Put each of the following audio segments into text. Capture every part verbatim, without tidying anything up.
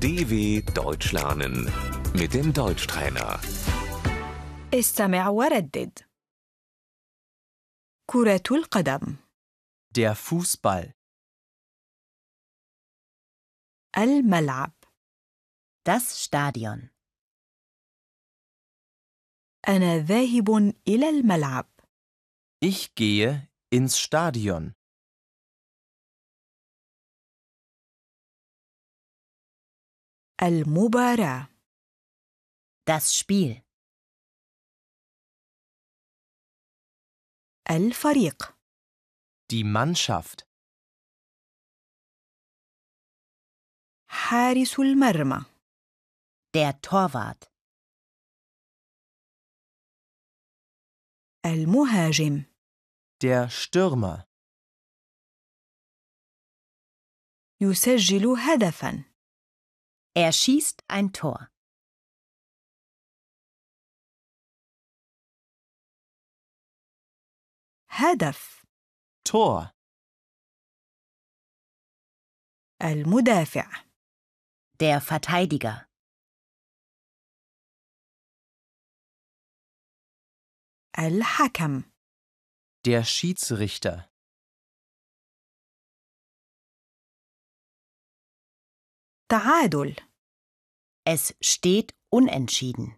D W Deutsch lernen mit dem Deutschtrainer. استمع وردد. كرة القدم. Der Fußball. الملعب. Das Stadion. أنا ذاهب إلى الملعب. Ich gehe ins Stadion. المباراة. Das Spiel. الفريق. Die Mannschaft. حارس المرمى. Der Torwart. المهاجم. Der Stürmer. يسجل هدفاً. Er schießt ein Tor. هدف. Tor. المدافع. Der Verteidiger. الحكم. Der Schiedsrichter. تعادل. Es steht unentschieden.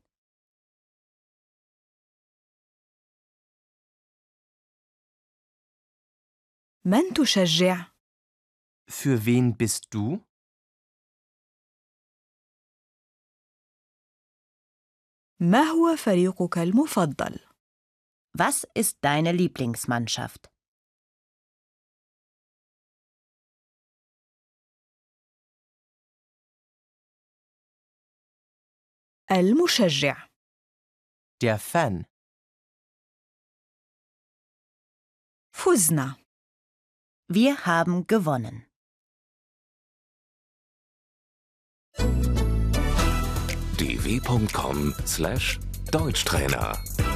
من تشجع؟ Für wen bist du? ما هو فريقك المفضل؟ Was ist deine Lieblingsmannschaft? المشجع. Der Fan. فزنا. Wir haben gewonnen. d w punkt com slash Deutschtrainer